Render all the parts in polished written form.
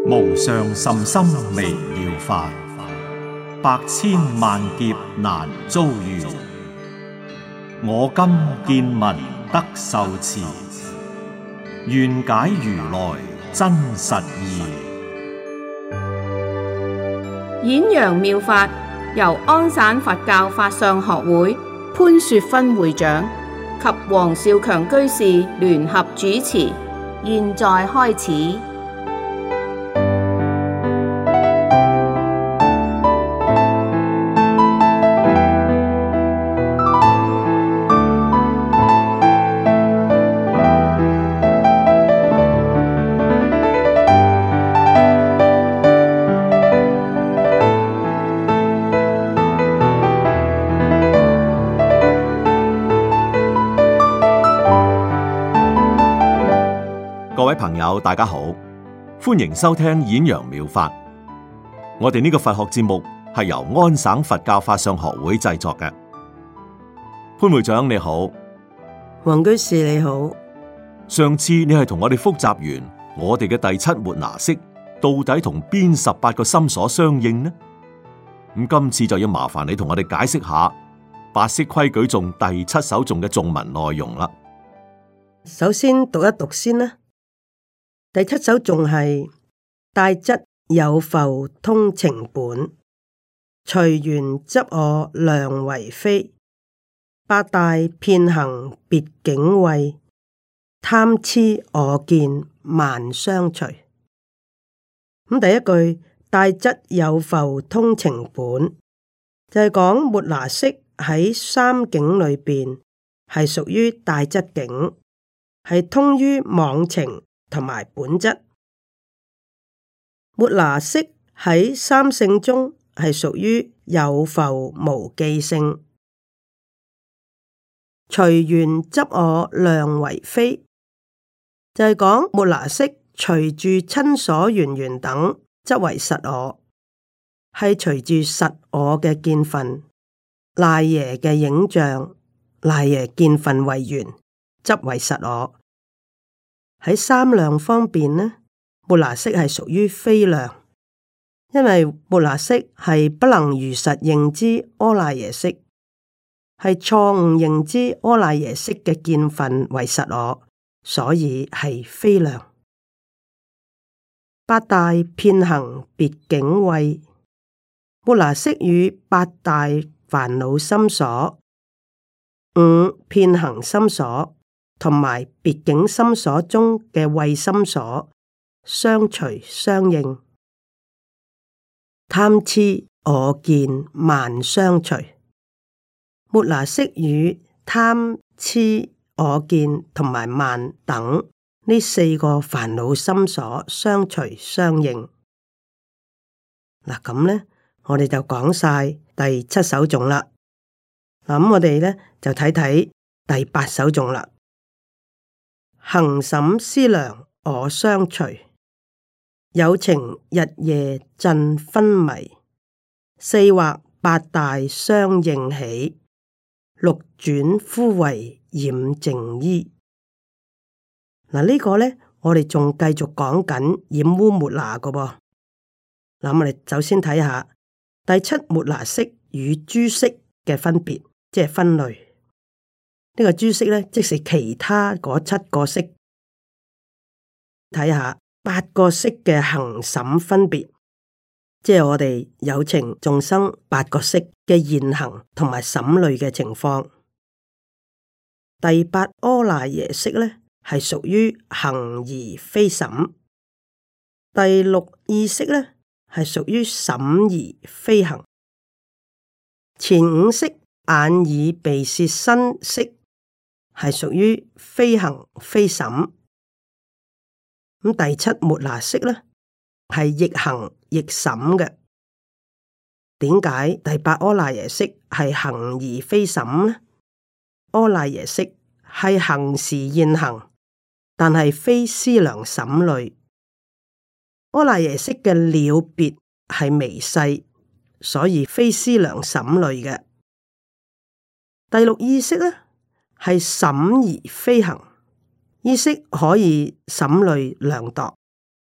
無上甚深微妙法，百千萬劫難遭遇。我今見聞得受持，願解如來真實義。 演揚妙法由安省佛教法相學會潘雪芬會長及黃少強居士聯合主持，現在開始。 各位朋友，大家好，歡迎收聽演揚妙法。我哋呢個佛學節目係由安省佛教法相學會製作嘅。潘會長你好， 黃居士你好。 上次你係同我哋複習完我哋嘅第七末那識到底同邊18個心所相應呢？咁今次就要麻煩你同我哋解釋下八識規矩頌第7首頌嘅頌文內容啦。 首先讀一讀先啦。第7首頌係帶質有覆通情本，隨緣執我量為非，八大遍行別境慧，貪癡我見萬相隨。咁第一句帶質有覆通情本，就係講末那識喺三境裏邊係屬於帶質境，係通於妄情同埋本質。末那識喺三性中係屬於有覆無記性，隨緣執我量為非，就係講末那識隨住親所緣緣等執為實我，係隨住實我嘅見分、賴耶嘅影像、賴耶見分為緣，執為實我。喺三量方面呢，末那識係屬於非量，因為末那識係不能如實認知阿賴耶識，係錯誤認知阿賴耶識嘅見分為實我，所以係非量。八大遍行別境慧，末那識與八大煩惱心所、五遍行心所同埋別境心所中嘅慧心所相隨相應，貪癡我見萬相隨。末那識與貪癡我見同埋慢等呢四個煩惱心所相隨相應。嗱咁呢，我哋就講晒第7首頌啦。嗱咁我哋呢就睇睇第8首頌啦。行審思量我相隨，有情日夜振昏迷，四惑八大相應起，六轉枯為染淨衣。嗱呢個呢，我哋仲繼續講緊染污末那嘅噃。嗱我哋首先睇下第7末那識與諸識嘅分別，即係分類。呢個諸識呢，即是其他嗰7個識。睇下8個識嘅行審分別，即係我哋有情眾生8個識嘅現行同埋審類嘅情況。第8阿賴耶識呢，係屬於行而非審。第6意識呢，係屬於審而非行。前5識眼耳鼻舌身識係屬於非行非審。咁第7末那識呢，係亦行亦審嘅。點解第8阿賴耶識係行而非審呢？阿賴耶識係行時現行，但係非思量審類。阿賴耶識嘅了別係微細，所以非思量審類嘅。第6意識呢，係審而非行，意識可以審類量度，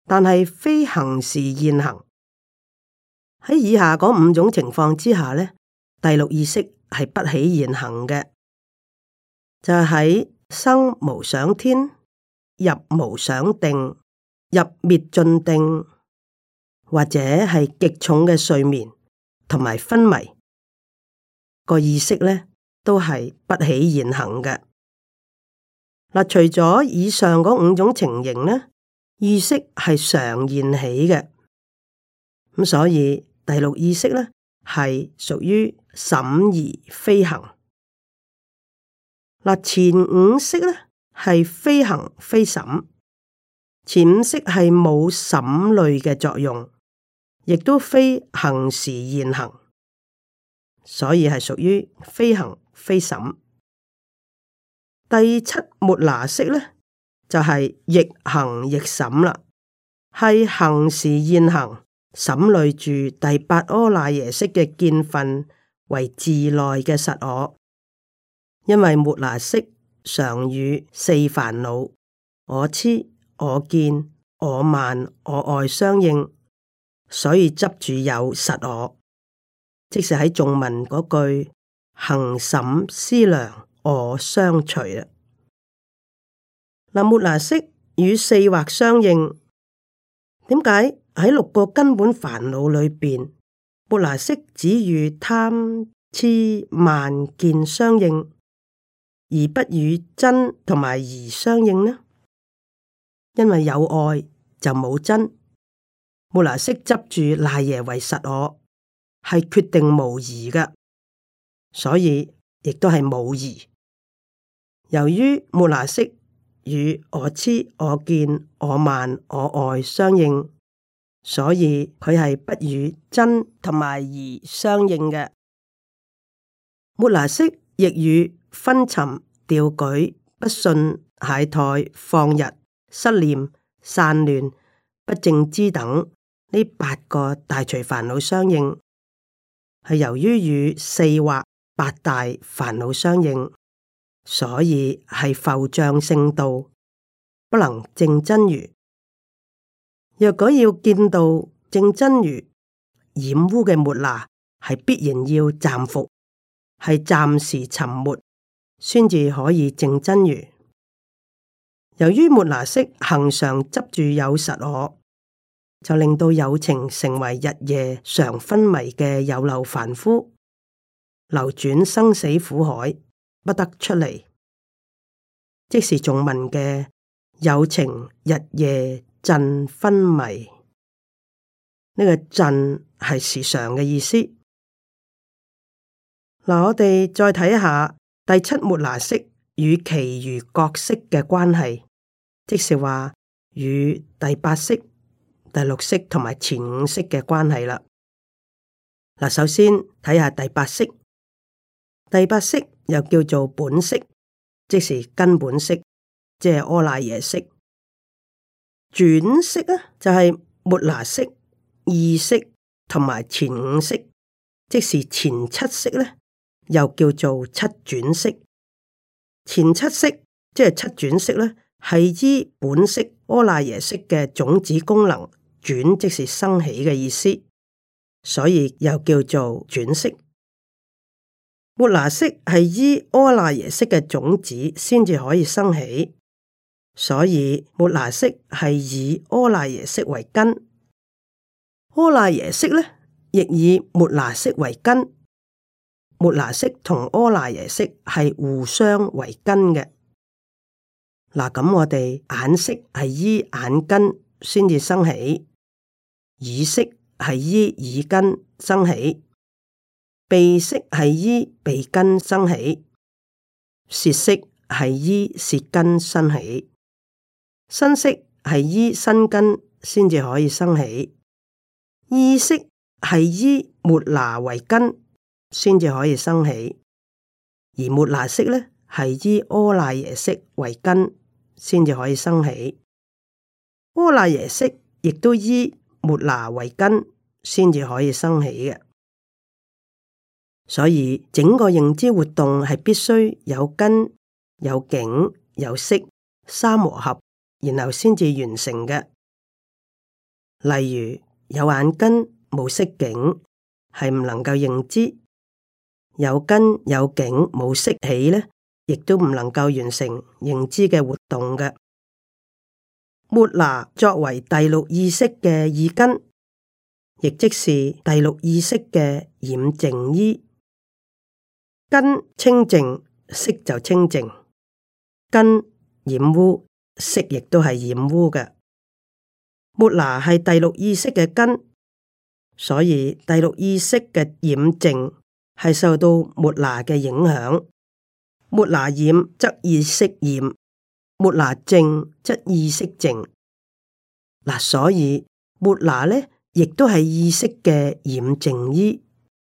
但係非行時現行。喺以下嗰五種情況之下呢，第六意識係不起現行嘅，就係喺生無想天、入無想定、入滅盡定，或者係極重嘅睡眠同埋昏迷，個意識呢都係不起現行嘅。嗱，除咗以上嗰五種情形呢，意識係常現起嘅，咁所以第六意識呢係屬於審而非行。嗱，前五識呢係非行非審，前五識係冇審慮嘅作用，亦都非行時現行，所以係屬於非行非審。第七末那識呢就係亦行亦審啦，係行時現行，審慮住第八阿賴耶識嘅見分為自內嘅實我。因為末那識常與四煩惱我癡、我見、我慢、我愛相應，所以執住有實我，即是喺頌文嗰句行審思量我相隨啦。嗱，末那識與四惑相應，點解喺六個根本煩惱裏邊，末那識只與貪、癡、慢、見相應，而不與真同埋疑相應呢？因為有愛就冇真，末那識執住賴耶為實我，係決定無疑嘅，所以亦都係冇疑。由於末那識與我癡、我見、我慢、我愛相應，所以佢係不與真同埋疑相應嘅。末那識亦與昏沉、掉舉、不信、懈怠、放逸、失念、散亂、不正知等呢八個大隨煩惱相應，係由於與四惑八大煩惱相應，所以係浮障聖道，不能證真如。若果要見到證真如，染污嘅末那係必然要暫伏，係暫時沉沒，先至可以證真如。由於末那識恆常執住有實我，就令到有情成為日夜常昏迷嘅有漏凡夫，流轉生死苦海，不得出嚟。即是頌文嘅有情日夜震昏迷，呢個震係時常嘅意思。嗱，我哋再睇下第七末那識與其餘各識嘅關係，即是話與第八識、第六識同埋前五識嘅關係啦。嗱，首先睇下第八識，第八識又叫做本識，即是根本識，即係阿賴耶識。轉識啊，就係末那識、意識同埋前五識，即是前七識咧，又叫做七轉識。前七識即係七轉識咧，係依本識阿賴耶識嘅種子功能轉，即是生起嘅意思，所以又叫做轉識。末那識係依阿賴耶識嘅種子先至可以生起，所以末那識係以阿賴耶識為根，阿賴耶識咧亦以末那識為根。末那識同阿賴耶識係互相為根嘅。嗱，咁我哋眼識係依眼根先至生起，耳識係依耳根生起，鼻識係依鼻根生起，舌識係依舌根生起，身識係依身根先至可以生起，意識係依末那為根先至可以生起，而末那識咧係依阿賴耶識為根先至可以生起，阿賴耶識亦都依末那為根先至可以生起嘅。所以整個認知活動係必須有根、有境、有識三和合，然後先至完成嘅。 例如有眼根冇色境，係唔能夠認知；有根有境冇識起呢，亦都唔能夠完成認知嘅活動嘅。末那作為第六意識嘅意根，亦即是第六意識嘅染淨依。根清淨，色就清淨；根染污，色亦都係染污嘅。末那係第六意識嘅根，所以第六意識嘅染淨係受到末那嘅影響。末那染則意識染，末那淨則意識淨。嗱，所以末那呢，亦都係意識嘅染淨依。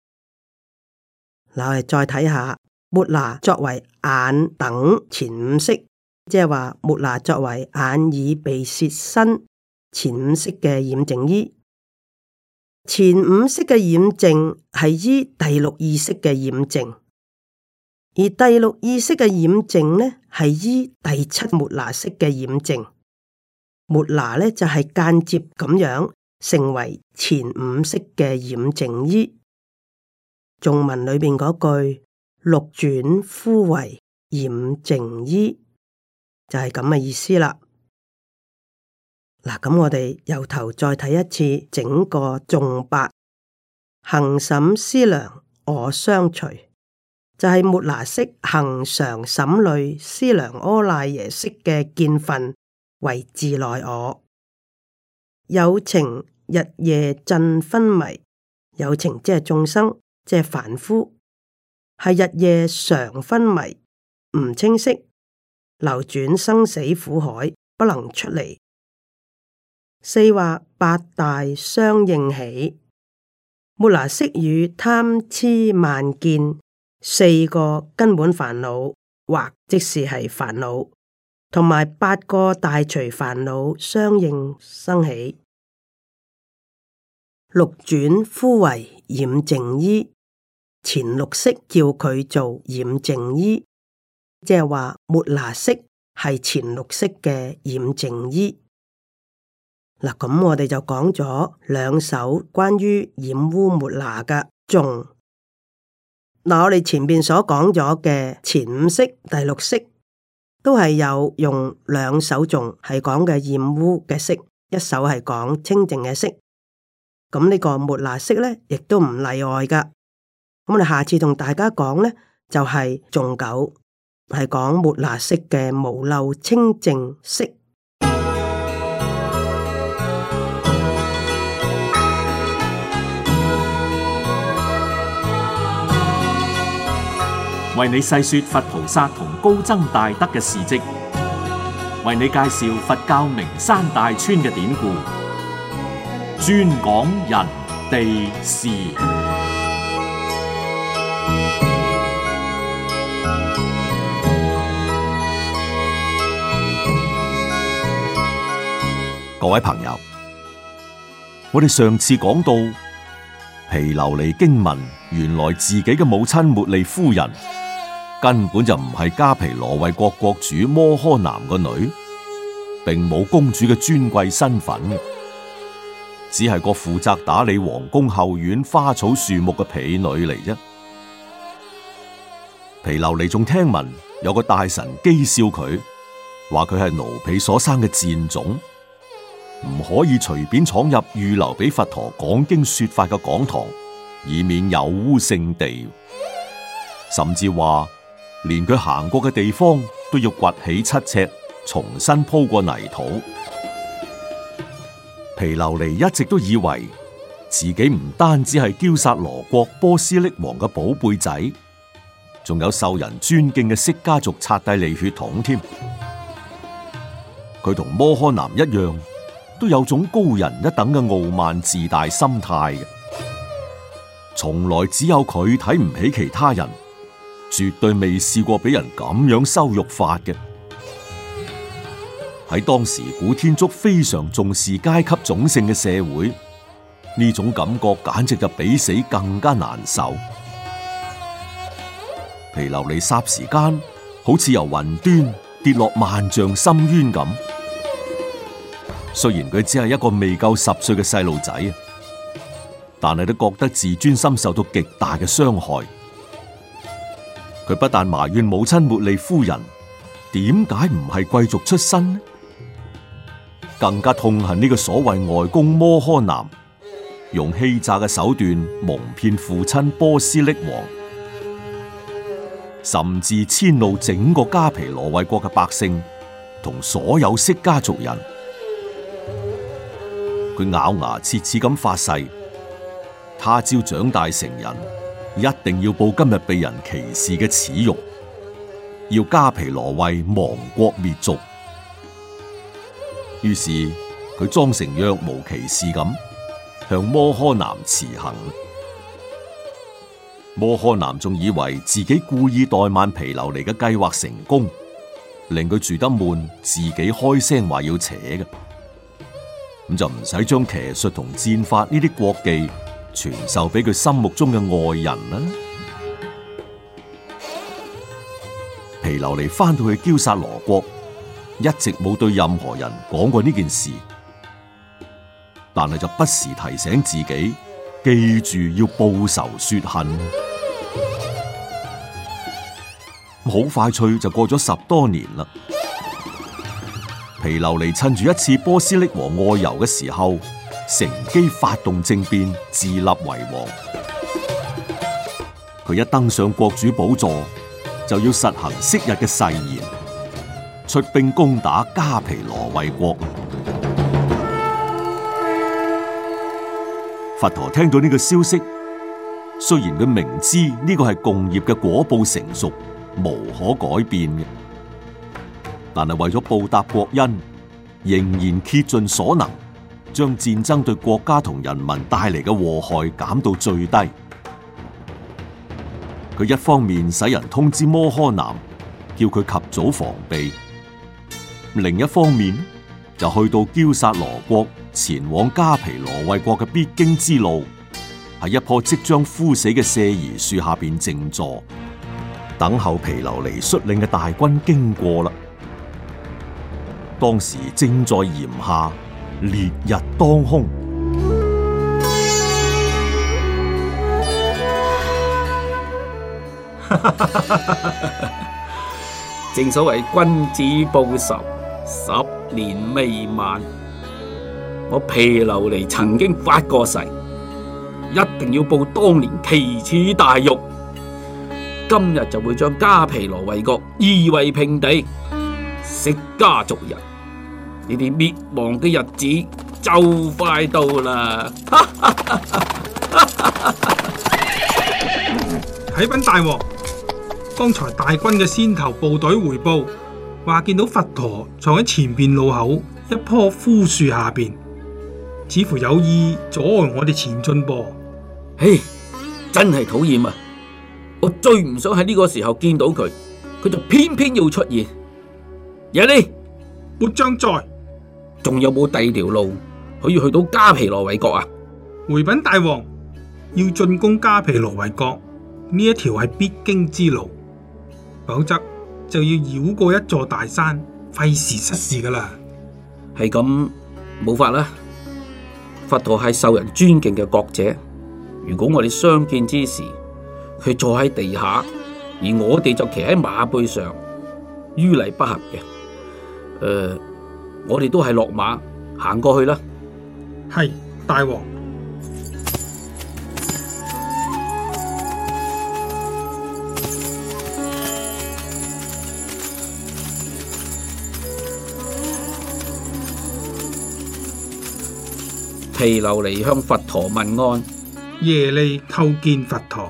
嗱，我哋再睇下末那作為眼等前五識，即係話末那作為眼耳鼻舌身前五識嘅染淨依。前五識嘅染淨係依第六意識嘅染淨，而第六意識嘅染淨呢，係依第七末那識嘅染淨。末那呢，就係間接咁樣成為前五識嘅染淨依。頌文裏邊嗰句六轉呼為染淨依，就係咁嘅意思啦。嗱，咁我哋由頭再睇一次整個頌八，恆審思量我相隨，就係末那識恆常審慮思量阿賴耶識嘅見分為自內我。有情日夜盡昏迷，有情即係眾生，即係凡夫，係日夜常昏迷，唔清晰，流轉生死苦海，不能出離。四惑八大相應起，末那識與貪癡慢見四個根本煩惱，或即是係煩惱，同埋八個大隨煩惱相應生起。六轉呼為染淨依，前六識叫佢做染淨依，即係話末那識係前六識嘅染淨依。嗱，咁我哋就講咗兩首關於染污末那嘅頌。嗱，我哋前邊所講咗嘅前五識、第六識，都係有用兩首頌係講嘅染污嘅識，一首係講清淨嘅識。咁呢個末那識咧，亦都唔例外噶。咁我哋下次同大家講咧，就係頌九，係講末那識嘅無漏清淨識。 為你細說佛菩薩同高僧大德嘅事跡，為你介紹佛教名山大川嘅典故，專講人地事。 各位朋友，我哋上次講到毗琉璃驚聞，原來自己嘅母親茉莉夫人根本就唔係迦毗羅衛國國主摩訶男個女，並冇公主嘅尊貴身份，只係個負責打理皇宮後院花草樹木嘅婢女嚟啫。毗琉璃仲聽聞有個大臣譏笑佢，話佢係奴婢所生嘅賤種，唔可以隨便闖入預留俾佛陀講經說法嘅講堂，以免有污聖地。甚至話連佢行過嘅地方都要掘起7尺，重新鋪過泥土。毗琉璃一直都以為自己唔單止係憍薩羅國波斯匿王嘅寶貝仔，仲有受人尊敬嘅釋家族剎帝利血統添。佢同摩訶男一樣，都有種高人一等嘅傲慢自大心態嘅，從來只有佢睇唔起其他人，絕對未試過俾人咁樣羞辱法嘅。喺當時古天竺非常重視階級種姓嘅社會，呢種感覺簡直就比死更加難受。毗琉璃霎時間好似由雲端跌落萬丈深淵咁。 雖然佢只係一個未夠10歲嘅細路仔，但係都覺得自尊心受到極大嘅傷害。佢不但埋怨母親茉莉夫人點解唔係貴族出身呢，更加痛恨呢個所謂外公摩訶男用欺詐嘅手段蒙騙父親波斯匿王，甚至遷怒整個加皮羅衛國嘅百姓同所有釋迦族人。佢咬牙切齒咁發誓，他朝長大成人，一定要報今日被人歧視嘅恥辱，要加皮羅衛亡國滅族。於是佢裝成若無其事咁向摩訶男辭行。摩訶男仲以為自己故意怠慢毗琉璃嘅計劃成功，令佢住得悶，自己開聲話要扯嘅，咁就唔使將騎術同戰法呢啲國技傳授俾佢心目中嘅愛人啦。毗琉璃翻到去憍薩羅國，一直冇對任何人講過呢件事，但係就不時提醒自己記住要報仇雪恨。好快脆就過咗10多年啦。毗琉璃趁住一次波斯匿王外遊嘅時候，乘機發動政變，自立為王。佢一登上國主寶座，就要實行昔日嘅誓言，出兵攻打加皮羅衛國。佛陀聽到呢個消息，雖然佢明知呢個係共業嘅果報成熟，無可改變嘅，但係為咗報答國恩，仍然竭盡所能，將戰爭對國家同人民帶嚟嘅禍害減到最低。佢一方面使人通知摩訶男，叫佢及早防備；另一方面就去到憍薩羅國，前往加皮羅衛國嘅必經之路，喺一棵即將枯死嘅舍夷樹下邊靜坐，等候毗琉璃率領嘅大軍經過啦。當時正在炎夏，烈日當空。 正所謂君子報仇，10年未晚。我毗琉璃曾經發過誓，一定要報當年奇恥大辱。今日就會將加皮羅衛國夷為平地，釋迦族人呢啲滅亡嘅日子就快到啦！ 啟稟大王，剛才大軍嘅先頭部隊回報，話見到佛陀坐喺前邊路口一棵枯樹下邊，似乎有意阻礙我哋前進噃。 嘿，真係討厭啊！我最唔想喺呢個時候見到佢，佢就偏偏要出現。耶利， 末將在， 仲有冇第二條路可以去到加皮羅衛國啊？ 回稟大王，要進攻加皮羅衛國呢一條係必經之路，否則就要繞過一座大山，費時失事噶啦。 係咁，冇法啦。佛陀係受人尊敬嘅國者，如果我哋相見之時，佢坐喺地下，而我哋就騎喺馬背上，於禮不合嘅。我哋都係落馬行過去啦。 係，大王。 毗琉璃向佛陀問安。 耶利叩見佛陀。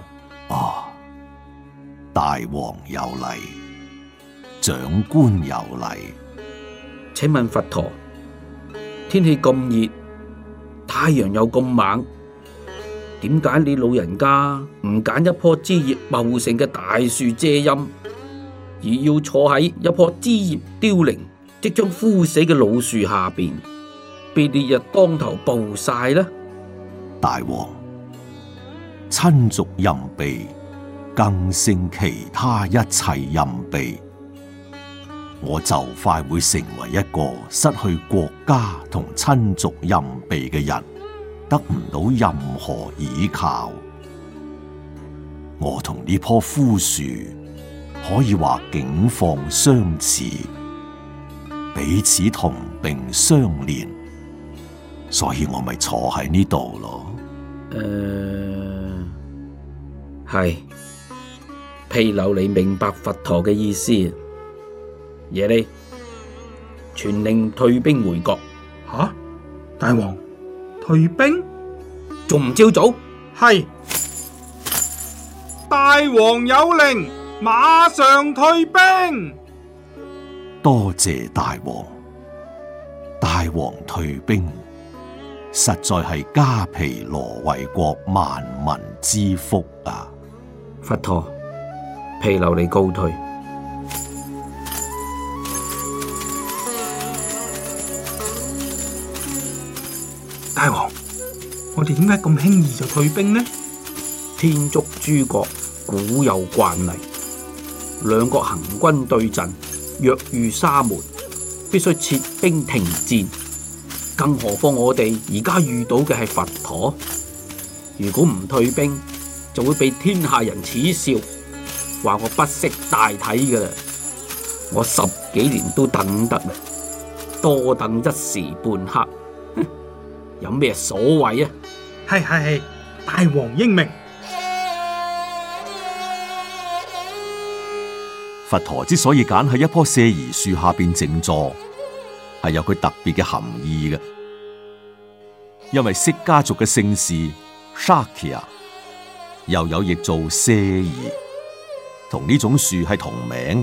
大王有禮，長官有禮。 請問佛陀，天氣咁熱，太陽又咁猛，點解你老人家唔揀一棵枝葉茂盛嘅大樹遮陰，而要坐喺一棵枝葉凋零、即將枯死嘅老樹下邊，被烈日當頭暴曬呢？ 大王，親族蔭庇更勝其他一切蔭庇。 我就快會成為一個失去國家同親族蔭庇嘅人，得唔到任何依靠。我同呢棵枯樹可以話境況相似，彼此同病相憐，所以我咪坐喺呢度咯。 係毗琉璃明白佛陀嘅意思。耶利，傳令退兵回國。 吓，大王，退兵？ 仲唔照早？ 係，大王有令，馬上退兵。 多謝大王，大王退兵，實在係迦毗羅衛國萬民之福啊！ 佛陀，毗琉璃告退。 大王，我哋點解咁輕易就退兵呢？ 天竺諸國古有慣例，兩國行軍對陣，若遇沙門，必須撤兵停戰。更何況我哋而家遇到嘅係佛陀，如果唔退兵，就會被天下人恥笑，話我不識大體㗎喇。我10幾年都等得啦，多等一時半刻。有咩所謂啊？ 係，大王英明。 佛陀之所以揀喺一棵舍夷樹下邊靜坐，係有佢特別嘅含義嘅。因為釋迦族嘅姓氏 Shakya 又有譯做舍夷，同呢種樹係同名嘅。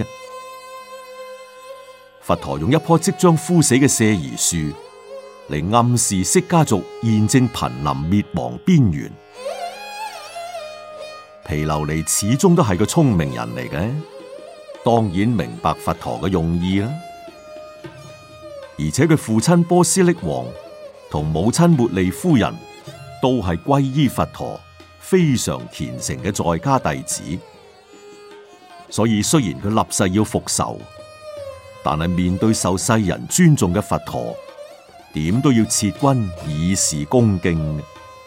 佛陀用一棵即將枯死嘅舍夷樹嚟暗示釋迦族現正瀕臨滅亡邊緣。毗琉璃始終都係個聰明人嚟嘅，當然明白佛陀嘅用意啦。而且佢父親波斯匿王同母親茉莉夫人都係皈依佛陀、非常虔誠嘅在家弟子，所以雖然佢立誓要復仇，但係面對受世人尊重嘅佛陀，點都要撤軍以示恭敬。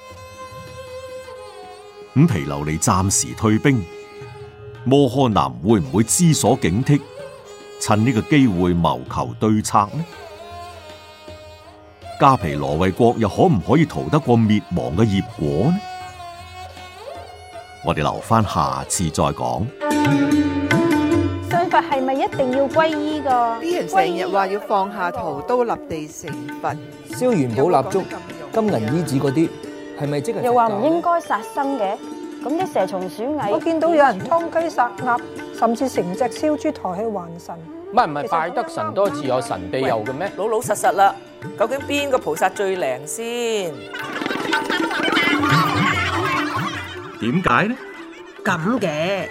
咁毗琉璃暫時退兵，摩訶男會唔會知所警惕，趁呢個機會謀求對策呢？迦毗羅衛國又可唔可以逃得過滅亡嘅業果呢？我哋留翻下次再講。 信佛係咪一定要皈依㗎？ 啲人成日話要放下屠刀立地成佛， 燒元寶蠟燭、金銀衣紙嗰啲，係咪即係？ 又話唔應該殺生嘅，咁啲蛇蟲鼠蟻， 我見到有人劏雞殺鴨，甚至成隻燒豬抬去還神。 唔係拜得神多自有神庇佑嘅咩？ 老老實實啦，究竟邊個菩薩最靈先？ 點解呢？ 咁嘅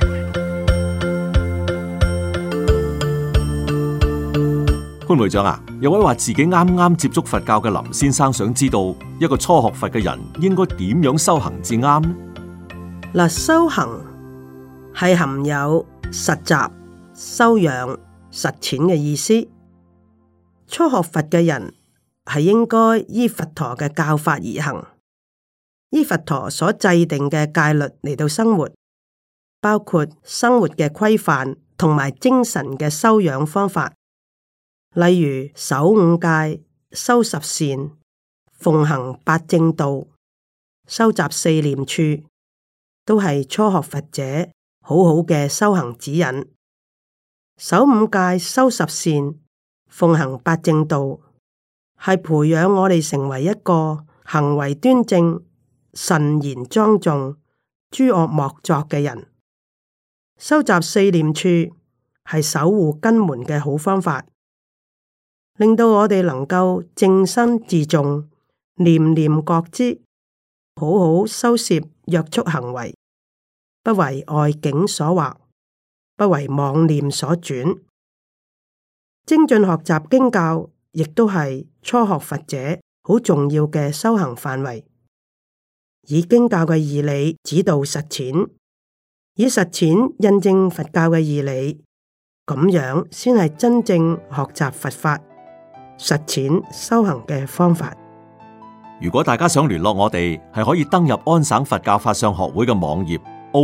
潘會長啊，有位話自己啱啱接觸佛教嘅林先生，想知道一個初學佛嘅人應該點樣修行至啱呢？ 嗱，修行係含有實習、修養、實踐嘅意思。初學佛嘅人係應該依佛陀嘅教法而行，依佛陀所制定嘅戒律嚟到生活，包括生活嘅規範同埋精神嘅修養方法，例如守五戒、修十善、奉行八正道、收集四念處，都係初學佛者好好嘅修行指引。守五戒、修十善、奉行八正道，係培養我哋成為一個行為端正、慎言莊重、諸惡莫作嘅人。收集四念處係守護根門嘅好方法，令到我哋能夠正身自重、念念覺知，好好收攝約束行為，不為外境所惑，不為妄念所轉。精進學習經教，亦都係初學佛者好重要嘅修行範圍。以經教嘅義理指導實踐，以實踐印證佛教嘅義理， 咁樣先係真正學習佛法、實踐修行嘅方法。 如果大家想聯絡我哋，係可以登入安省佛教法相學會嘅網頁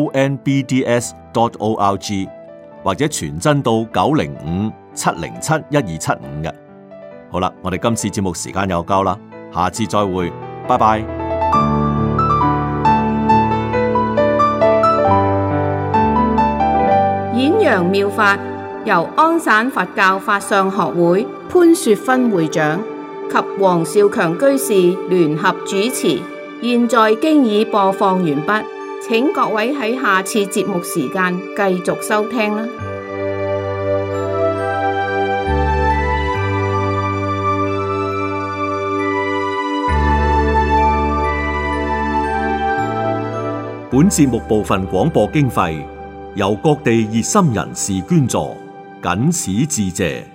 onbds.org， 或者傳真到905-707-1275嘅。好啦，我哋今次節目時間又夠啦，下次再會，拜拜。 演揚妙法由安省佛教法相學會潘雪芬會長及黃少強居士聯合主持，現在經已播放完畢，請各位喺下次節目時間繼續收聽啦。 本節目部分廣播經費由各地熱心人士捐助，謹此致謝。